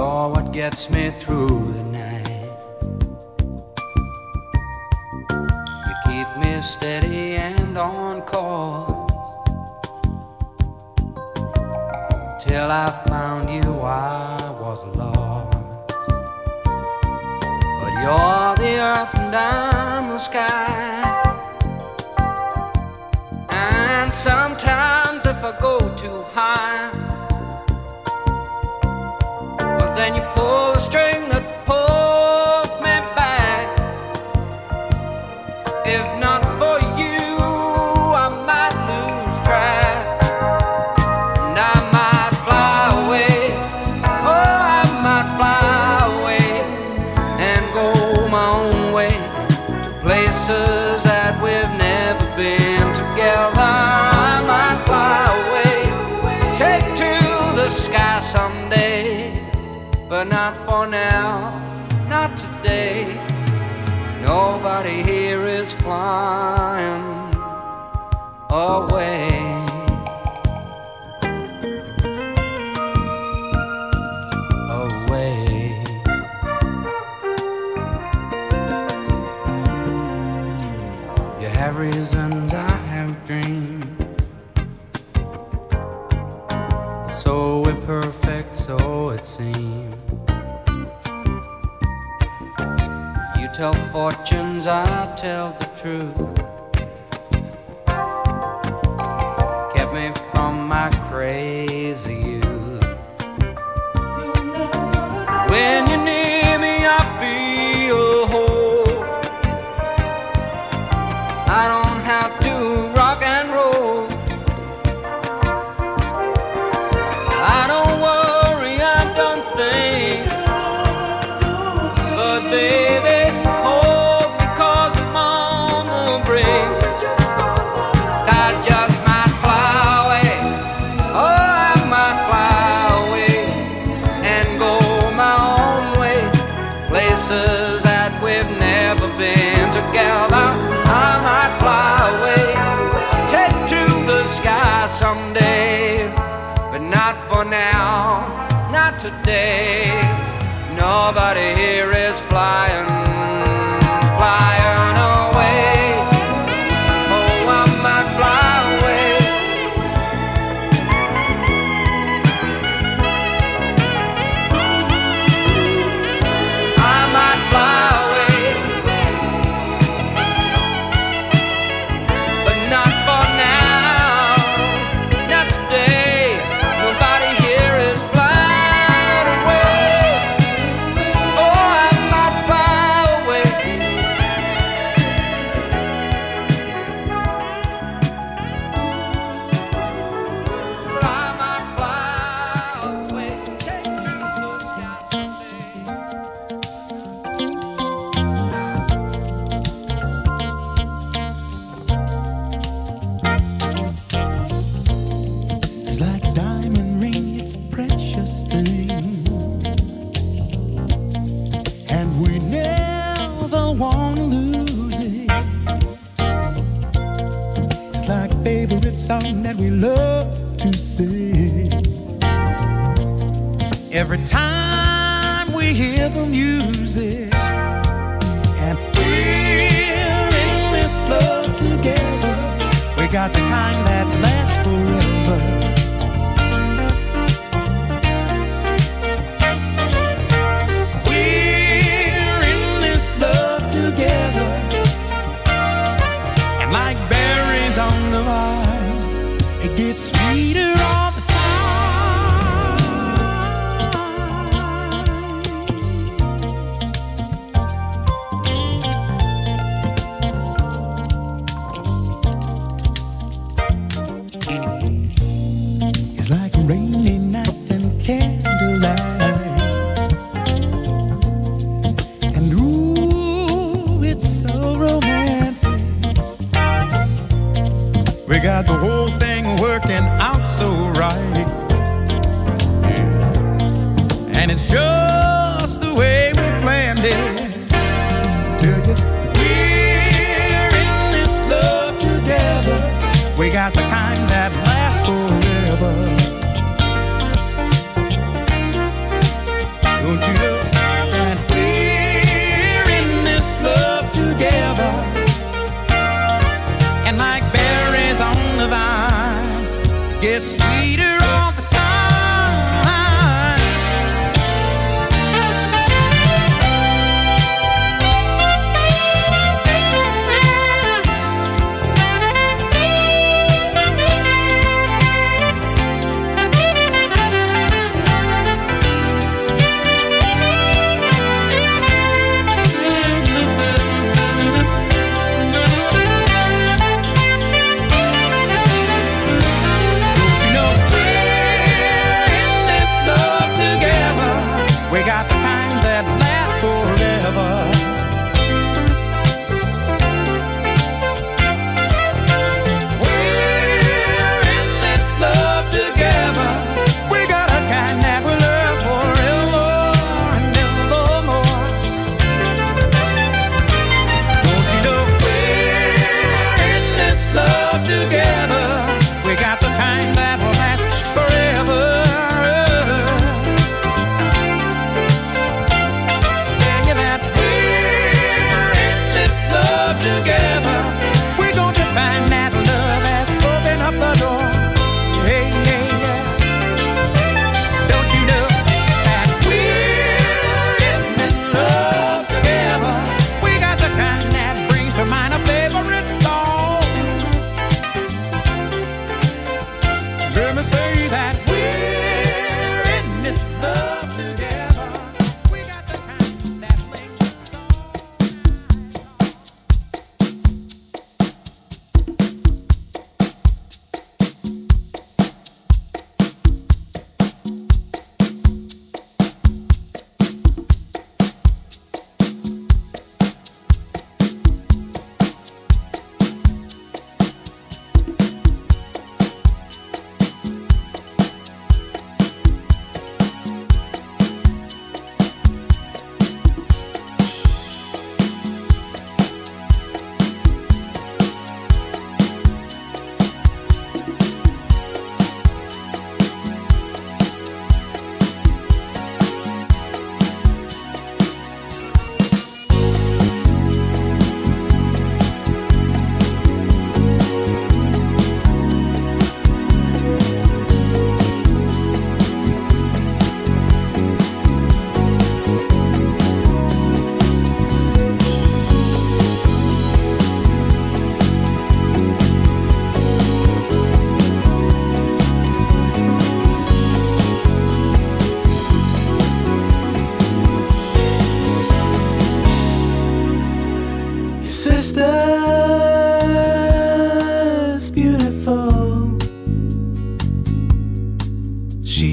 You're what gets me through the night. You keep me steady and on course till I found you. I was lost, but you're the earth and I'm the sky. And sometimes if I go too high, well then you pull the string that pulls me back. If not for you, I might lose track, and I might fly away. Oh, I might fly away and go my own way to places that we've never been together. I might fly away, take to the sky someday, but not for now, not today. Nobody here is flying away. Away. You have reasons, I have dreams, so imperfect, so it seems. You tell fortunes, I tell the truth. Kept me from my crazy youth. When you're near me, I feel whole. I don't have to rock and roll. I don't worry, I don't think. But baby, oh, because I'm on the brink, I just might fly away. Oh, I might fly away and go my own way, places that we've never been together. I might fly away, take to the sky someday, but not for now, not today. Nobody here is flying, flying away. Oh, I might fly away. I might fly away, but not for now, not today. Nobody here is flying away. Oh, I might fly away. I might fly away. Take to the sky someday. It's like a diamond ring, it's a precious thing, and we never want to lose it. It's like a favorite song that we love to sing. Every time we hear the music, and we're in this love together. We got the kind that lasts forever. We're in this love together, and like berries on the vine, it gets sweeter all the time. It's like a rainy night and candlelight, and ooh, it's so romantic. We got the whole thing working out so right, yes. And it's just the way we planned it. Tell you, we're in this love together. We got the kind that lasts forever.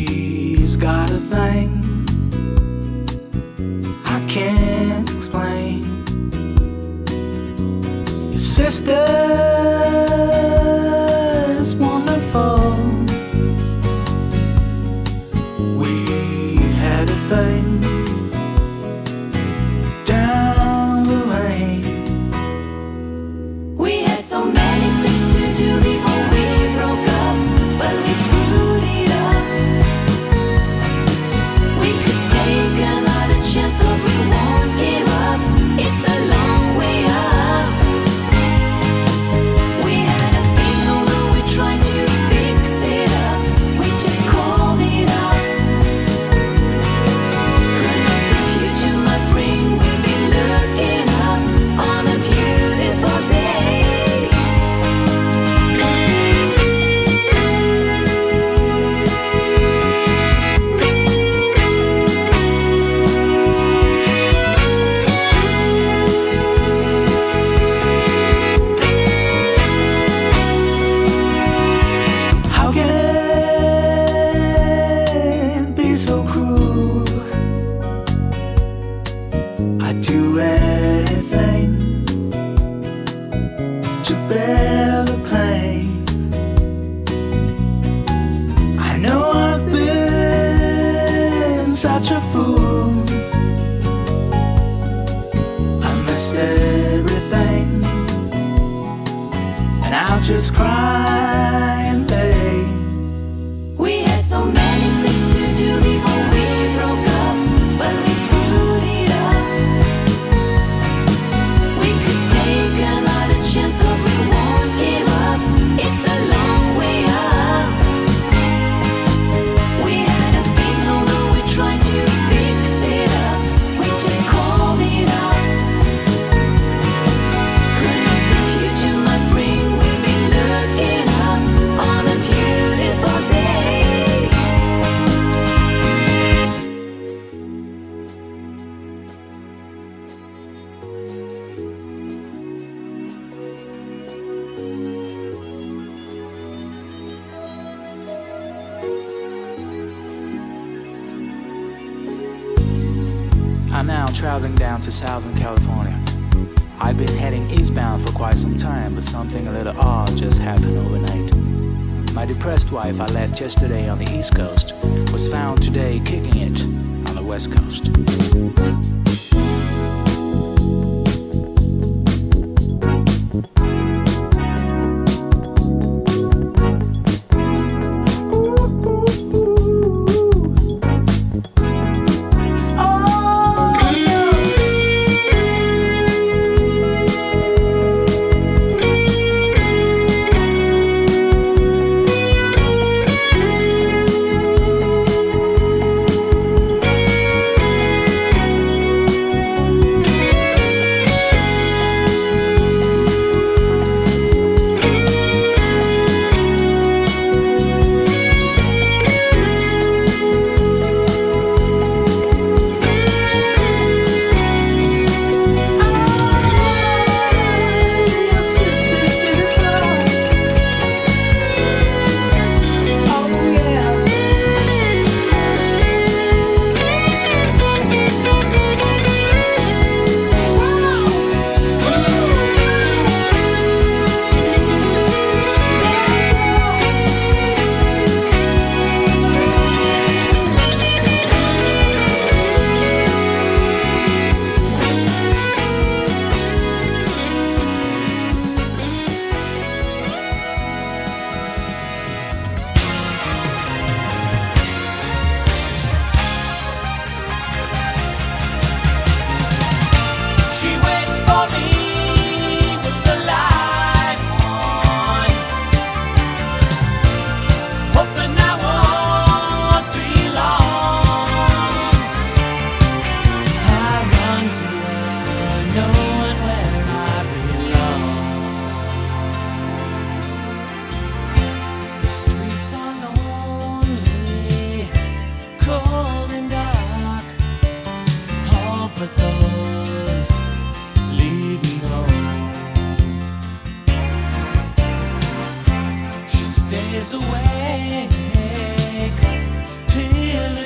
She's got a thing I can't explain. Your sister's wonderful. We had a thing down the lane. We had so many things to do before we broke up, but we screwed it up. We could take another chance, 'cause we won't give up. It's a long way up. We had a thing, although we tried to fix it up. We just called it up. Who knows the future might bring? We'll be looking up on a beautiful day. How can it be so cruel? I'd do anything to bear the pain. I know I've been such a fool. I missed everything, and I'll just cry and beg. We had so many things to do before we broke up, but we screwed it up. We could take another chance, 'cause we won't give up. It's a long way up. We had a thing, although we tried to fix it up. We just called it up. Who knows the future might bring? We'll be looking up on a beautiful day. I'm now traveling down to Southern California. I've been heading eastbound for quite some time, but something a little odd just happened overnight. My depressed wife I left yesterday on the East Coast was found today kicking it on the West Coast.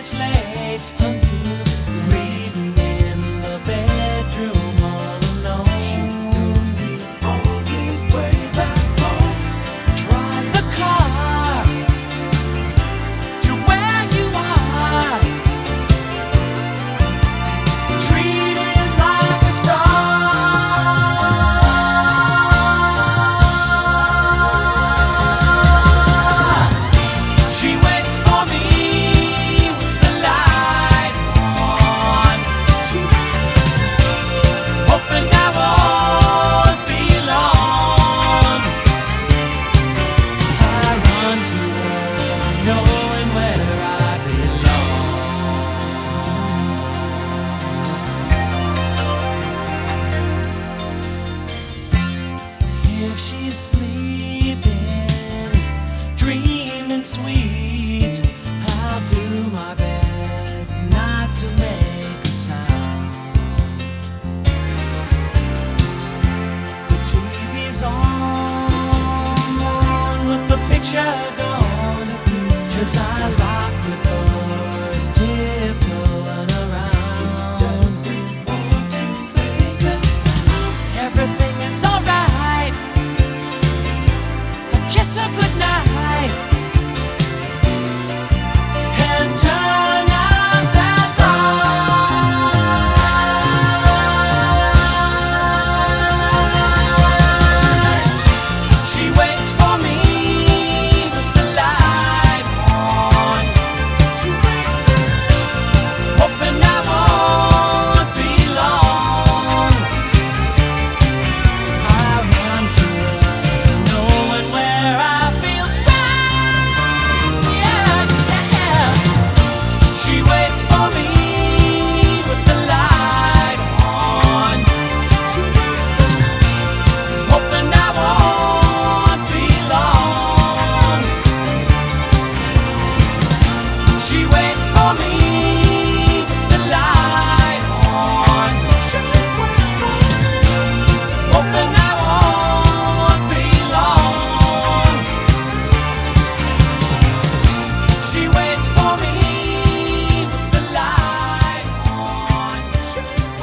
it's late, until it's late. Reading in the bedroom all alone. She knows he's on his way back home. Drive the car to where you are. Treat it like a star. She waits for me with the light on. She waits for me, hoping I won't be long. I run to her, knowing where I belong. If she's sleeping, dreaming sweet, I'll do my best not to make a sound. The TV's on with the picture gone, 'cause I lock the doors, tiptoeing around. Doesn't want to make a sound. Everything is alright. I kiss her goodnight and turn out that light. She waits for me with the light on. She waits for me, hoping I won't be long. I run to her, knowing where I feel strong. Yeah, yeah. She waits for me with the light on. She waits for me, hoping I won't be long. She waits for me with the light on. She waits for me, hoping I won't be long. She waits for me with the light on. She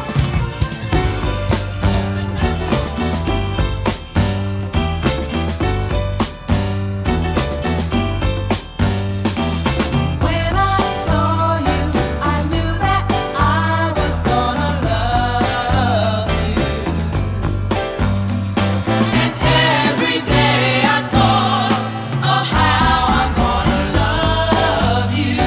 When I saw you, I knew that I was gonna love you. And every day I thought of how I'm gonna love you.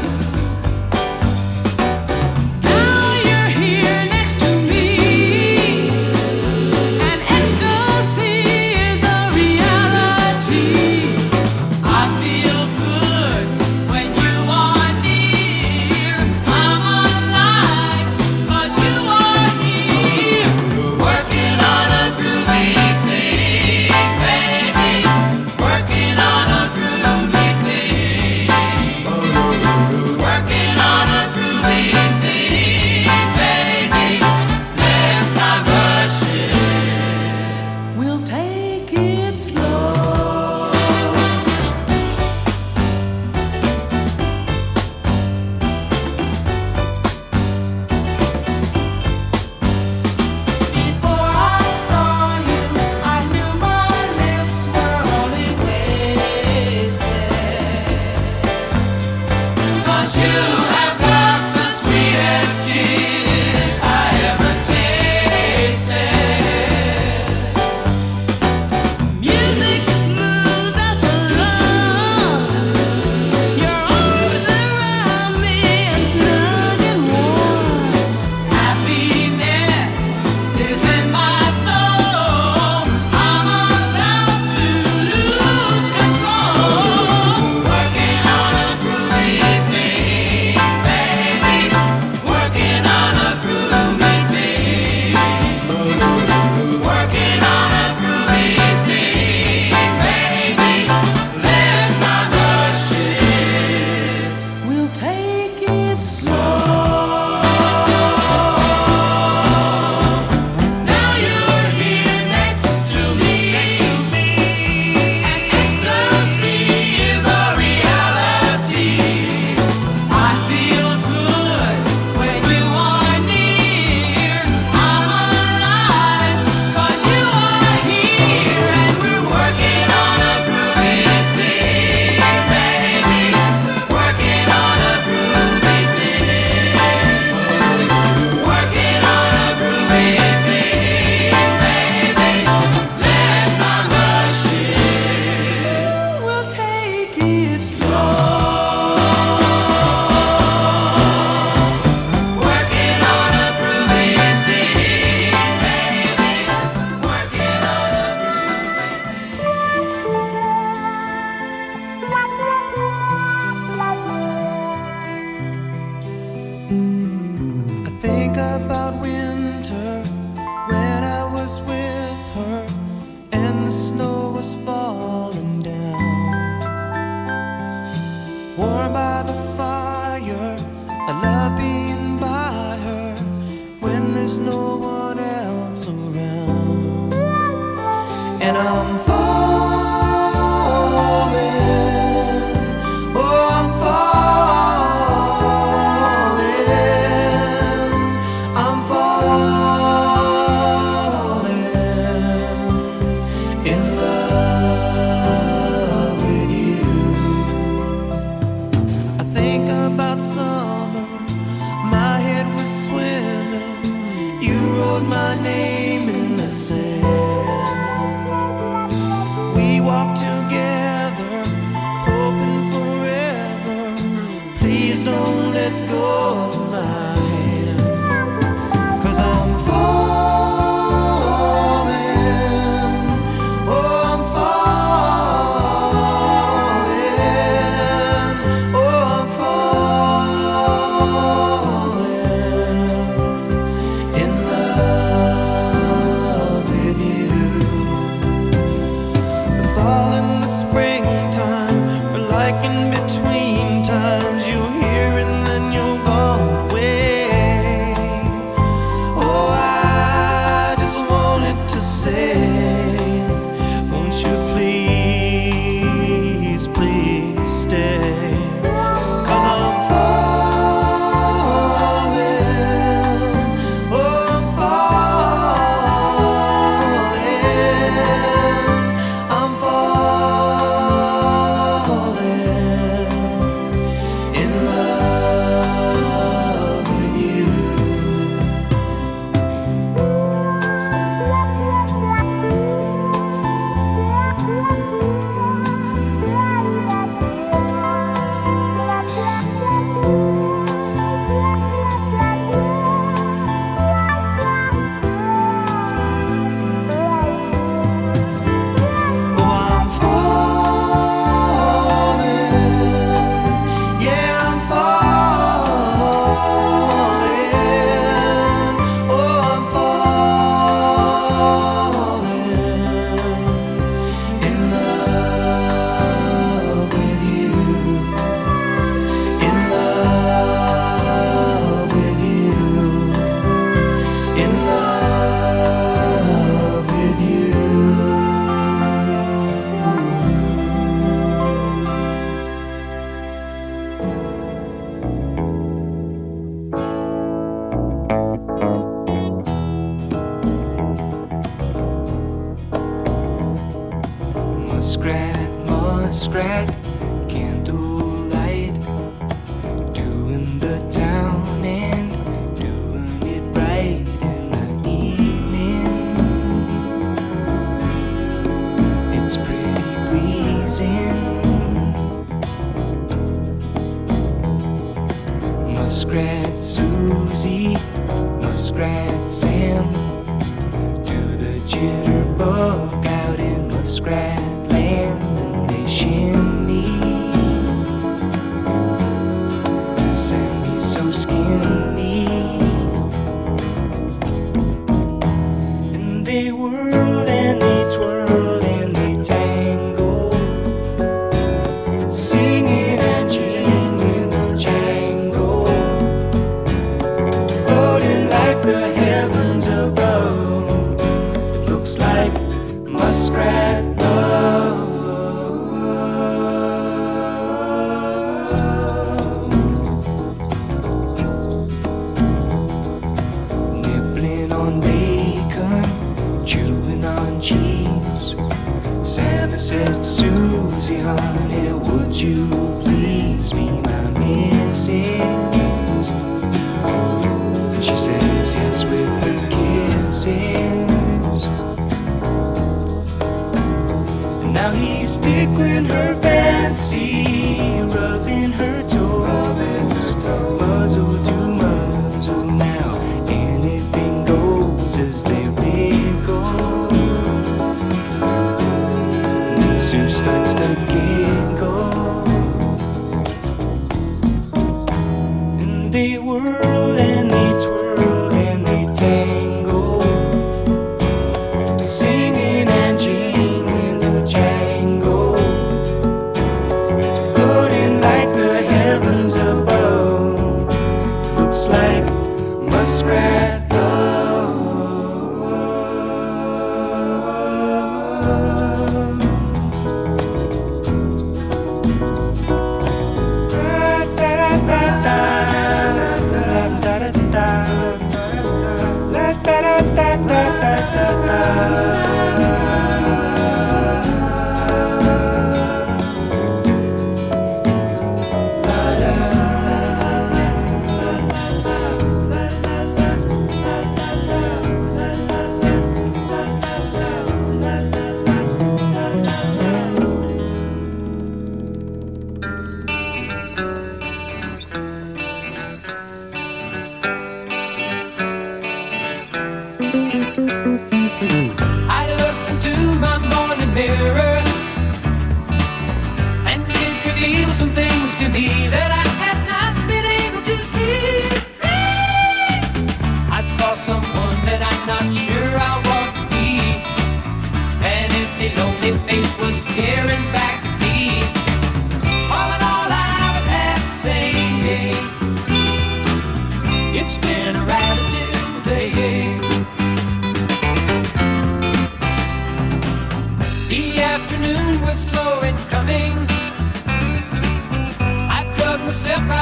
Now you're here next to me, and ecstasy is a reality. I feel good when you are near. I'm alive 'cause you are here. Working on a groovy thing, baby. Working on a groovy thing. Working on a groovy thing, baby. Let's not rush it. We'll take it slow. Before I saw you, I knew my lips were only wasted. 'Cause you have got the sweetest kiss I ever tasted. Music moves us along. Your arms around me are snug and warm. Happiness is in my soul. I'm about to lose control. Working on a groovy thing, about winter when I was with her and the snow was falling down. Warm by the fire, I love being by her when there's no one else around. And I'm falling, oh I'm falling, I'm falling in love with you. I think about summer, my head was swimming, you wrote my name in the sand. We walked together, hoping forever. Please don't let go of my hand. 'Cause I'm falling, oh I'm falling, oh I'm falling in love with you. The fall and the springtime are like in between times. You're here and then you're gone away. Oh, I just wanted to say, won't you please, please stay? 'Cause I'm falling, oh I'm falling, I'm falling in love with you. Oh, I'm falling, yeah, I'm falling, oh, I'm falling in love with you, in love with you, in love with you. Muskrat, muskrat, candlelight, doing the town and doing it right in the evening. It's pretty pleasing. Muskrat Susie, Muskrat Sam, do the jitterbug out in Muskrat Land, and they shimmy. Sammy's so skinny, and they whirl and they twirl and they tangle, singing and jingling a jangle, floating like the heavens above. It looks like muskrat love. Nibbling on bacon, chewing on cheese. Santa says to Susie, honey, would you please be my missus? And she says yes with her kisses. Now he's tickling her fancy, rubbing her toes, muzzle to muzzle. Now anything goes as they wriggle. And Sue starts to giggle, and they whirl and they twirl and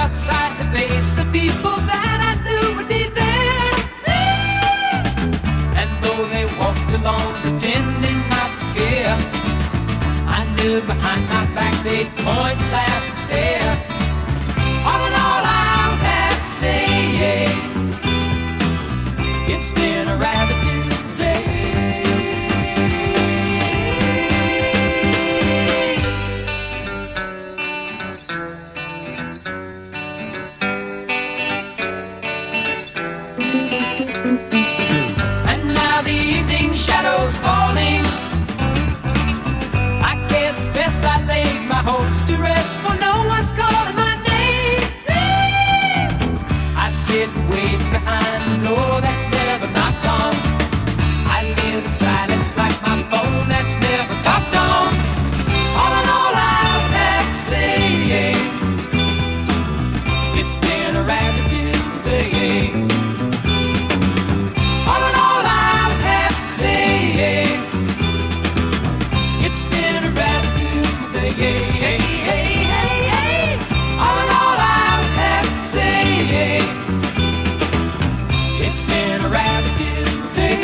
outside to face the people that I knew would be there. And though they walked along pretending not to care, I knew behind my back they'd point, laugh, and stare. All in all, I would have to say, yeah, it's been a rather beautiful day. And now the evening shadows falling, I guess it's best I laid my hopes to rest, for no one's calling my name. I sit and wait behind the door that's never knocked on. I live in silence like my phone that's never talked on. All in all, I would have to say, yeah, it's been a rather beautiful day. All in all, I would have to say, yeah, it's been a rather beautiful day. All in all, I would have to say, yeah, it's been a rather beautiful day.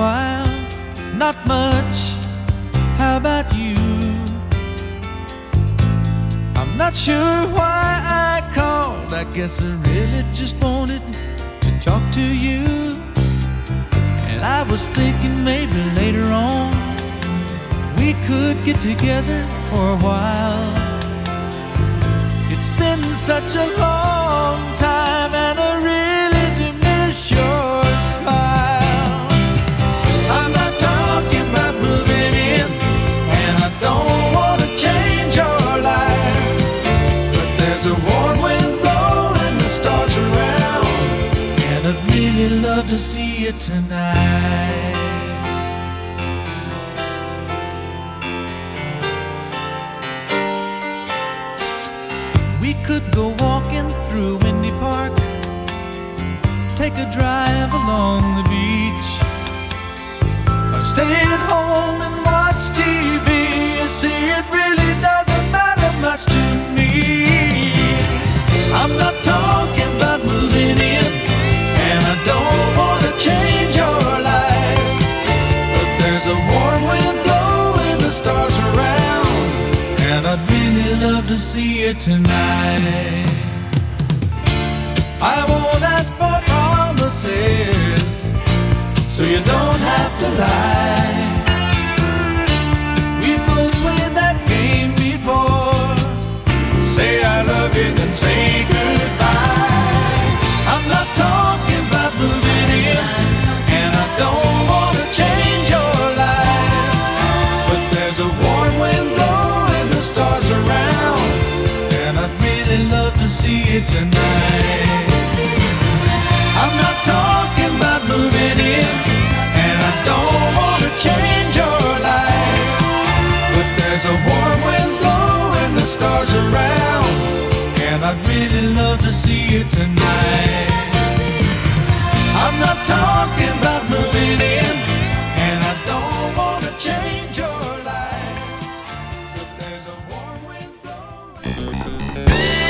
while. Not much. How about you? I'm not sure why I called. I guess I really just wanted to talk to you. And I was thinking maybe later on we could get together for a while. It's been such a long time and I really do miss your smile. I'm not talking about moving in, and I don't want to change your life, but there's a warm wind blowing the stars around, and I'd really love to see you tonight. We could go walking through Windy Park, take a drive along the beach, or stay at home and watch TV. You see, it really doesn't matter much to me. I'm not talking about moving in, and I don't want to change your life, but there's a warm wind blowing the stars around, and I'd really love to see you tonight. I won't ask for promises, so you don't have to lie. We both played that game before. Say I love you, then say goodbye. I'm not talking about moving in, and I don't want to change your life, but there's a warm wind blowing the stars around, and I'd really love to see you tonight. I'm not talking about moving in, and I don't want to change your life, but there's a warm wind blowing the stars around, and I'd really love to see you tonight. I'm not talking about moving in, and I don't want to change your life, but there's a warm wind blowing.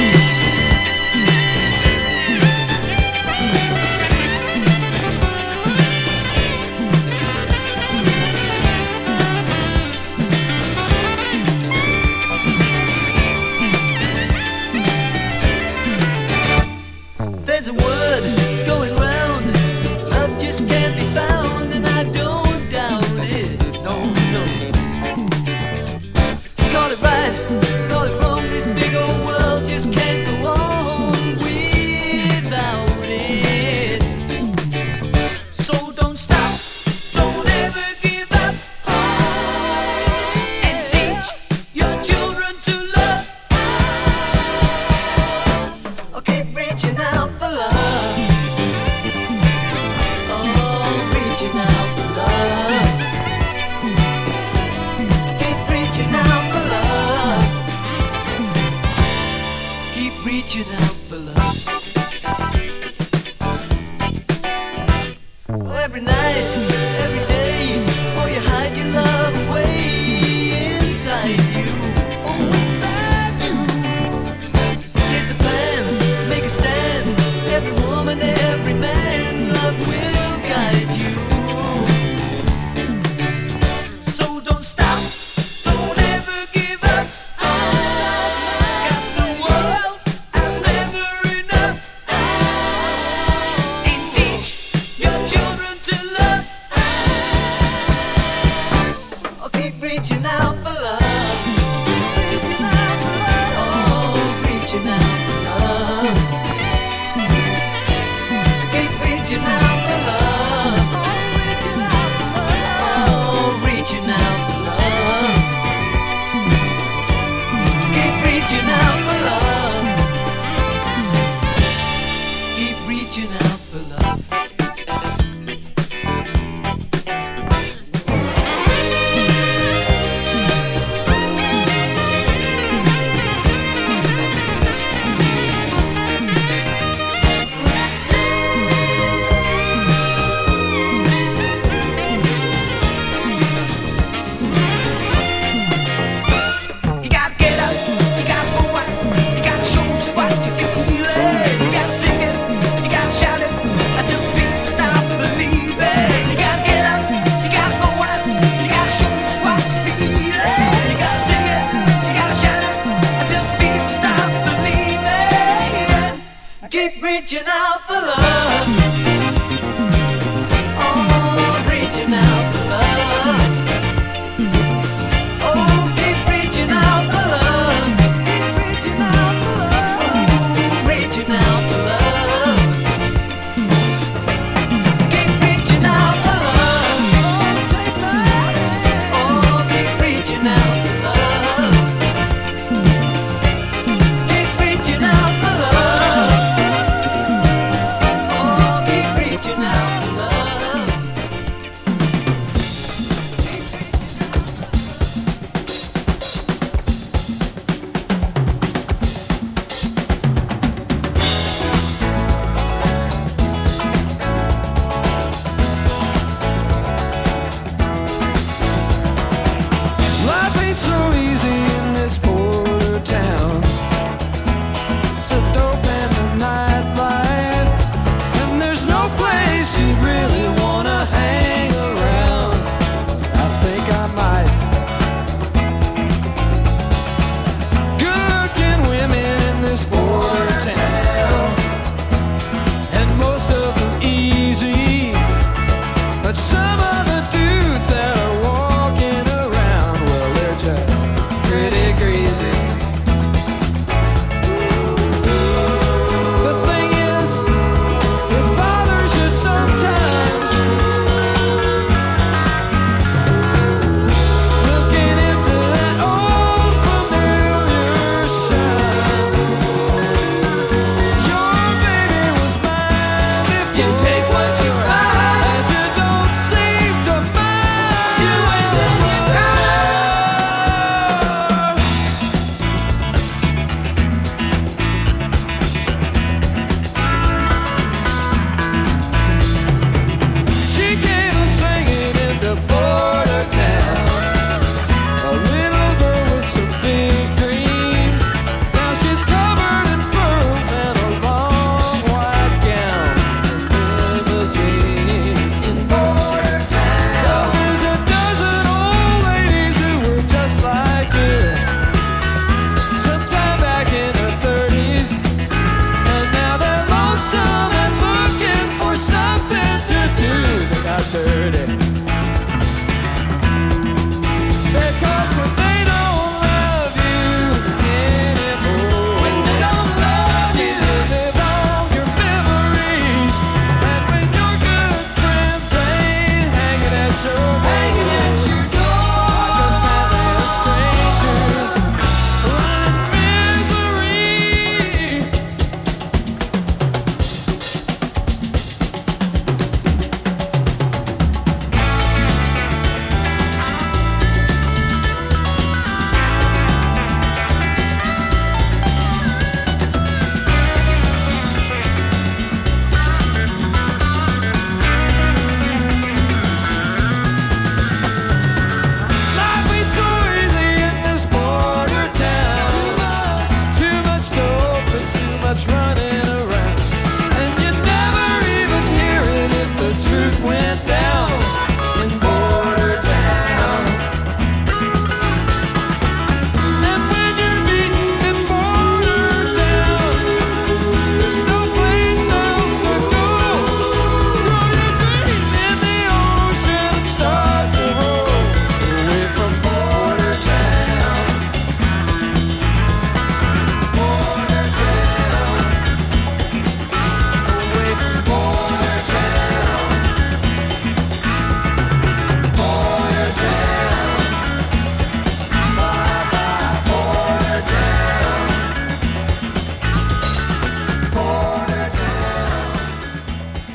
There's a word going round, love just can't be found, and I don't doubt it, no, no. Call it right, call it wrong, this big old world just can't go on without it. So don't stop, don't ever give up, and teach your children to love. Oh, keep reaching out for love. Oh, reaching out for love. Keep reaching out for love. Keep reaching out for love. Oh, every night, every day, oh, you hide your love away inside you. Oh, inside you. Here's the plan, make a stand. Every woman, every man, love will guide you. So don't stop, don't ever give up. 'Cause the world has never enough. And teach your children to love. went down in Border Town. And when you're beaten in Border Town, there's no place else to go. Throw your dream in the ocean and start to roll away from Border Town. Border Town. Away from Border Town. Border Town. Bye bye Border Town. Border Town.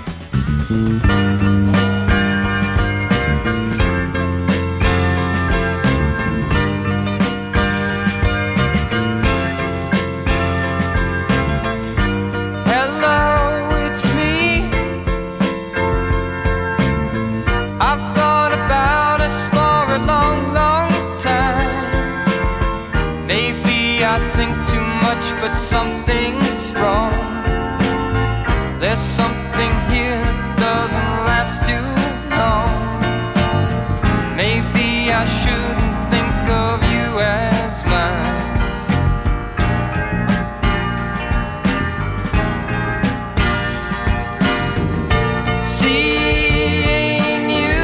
Hello, it's me. I've thought about us for a long, long time. Maybe I think too much, but something's wrong. There's something here that doesn't last too long. Maybe I shouldn't think of you as mine. Seeing you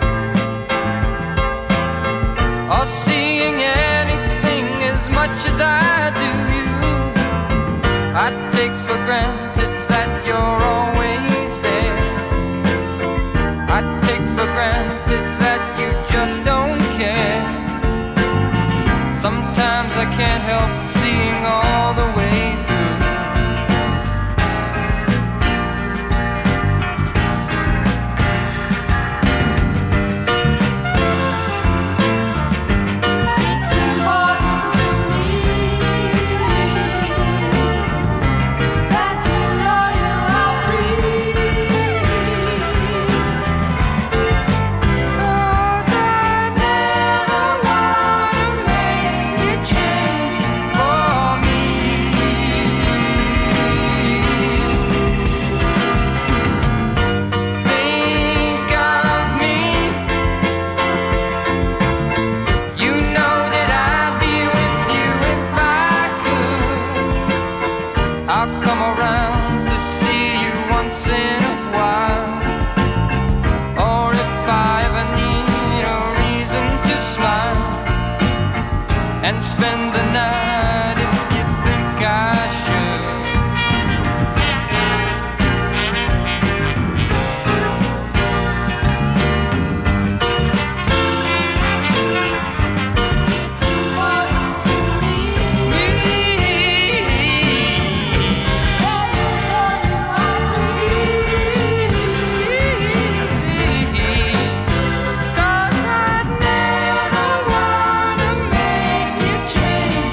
or seeing anything as much as I do you, I take for granted that you're always there. I take for granted that you just don't care. Sometimes I can't help seeing all the way through. It's important to me that you know you are free. 'Cause I never wanna make you change for me. Think of me. You know that I'd be with you if I could. I'll come around to see you once in a while. Or if I ever need a reason to smile and spend the night if you think I should. It's important to me that you know you are free. 'Cause I'd never wanna make you change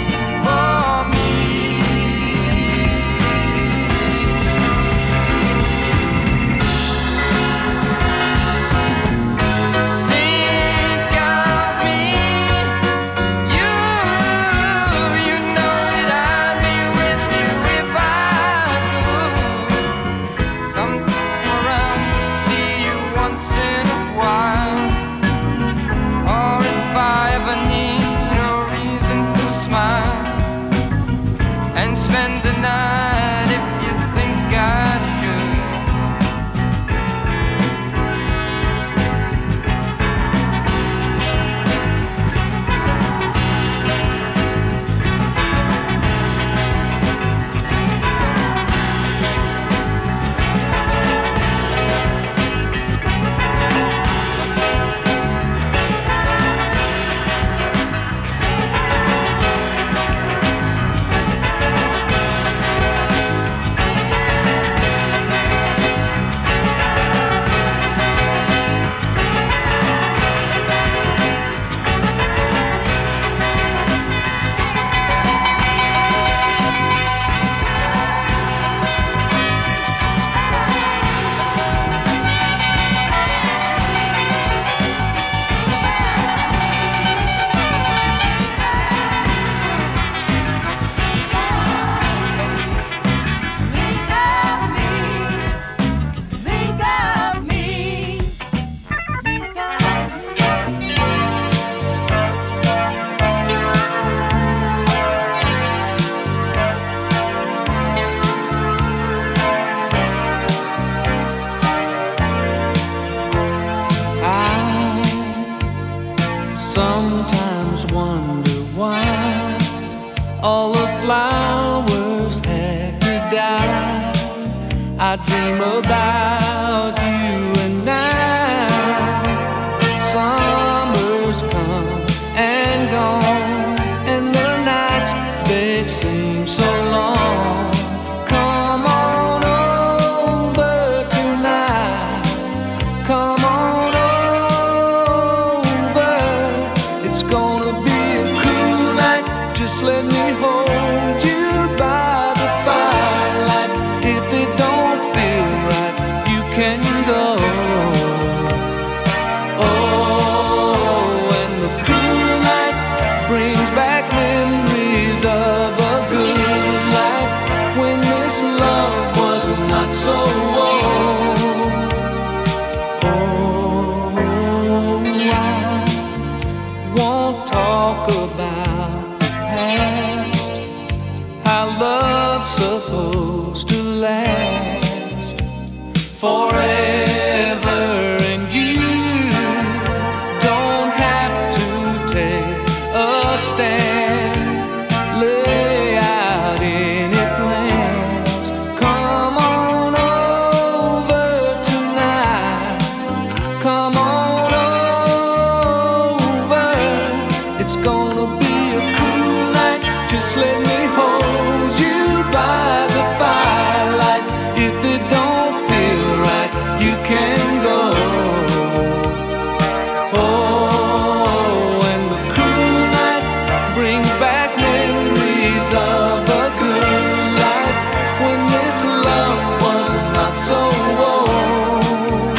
wonder why all the flowers had to die. I dream about you and now. Summer's come and gone, and the nights, they seem so long. Come on over tonight. Come on over. It's gonna be a cool night. Just let me hold you by the firelight. If it don't feel right, you can go. Oh, and the cool night brings back memories of a good life when this love was not so old. Oh, I won't talk about the past, how love's supposed to last forever, and you don't have to take a stand, lay out any plans. Come on over tonight. Come on over. It's gonna be a cool night. Just let me hold you by the firelight. If it don't feel right, you can go. Oh, and the cool night brings back memories of a good life when this love was not so old.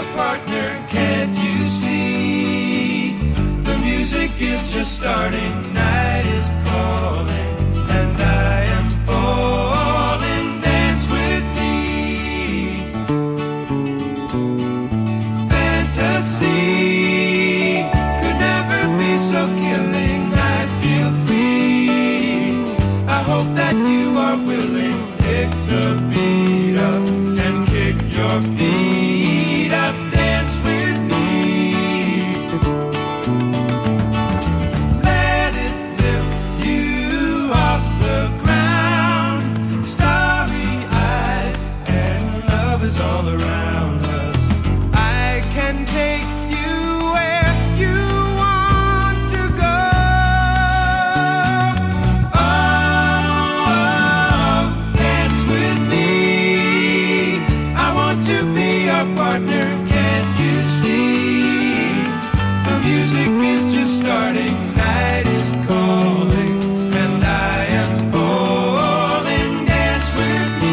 partner, can't you see? The music is just starting, night is calling, and I am falling. Dance with me. Fantasy could never be so killing. I feel free. I hope that you are willing. Pick the beat up and kick your feet up. Dance with me. Let it lift you off the ground. Starry eyes and love is all around us. I can take you where you want to go. Oh, dance with me. I want to be your partner, can't you see? The music is just starting, night is calling, and I am falling. Dance with me.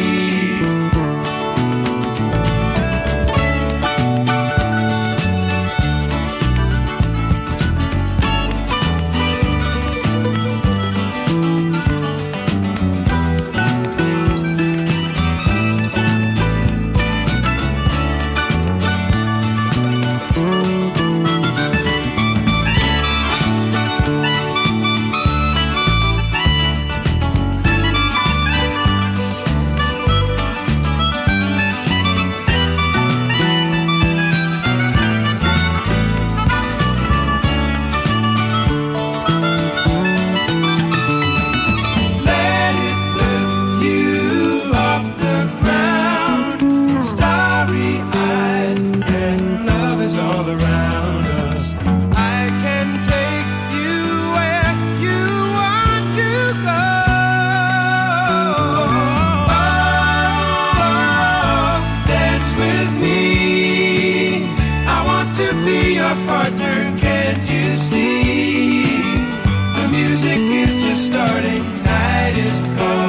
Let it lift you off the ground. Starry eyes and love is all around us. I can take you where you want to go. Oh, dance with me. I want to be your partner, can't you see? The music is just starting, night is calling.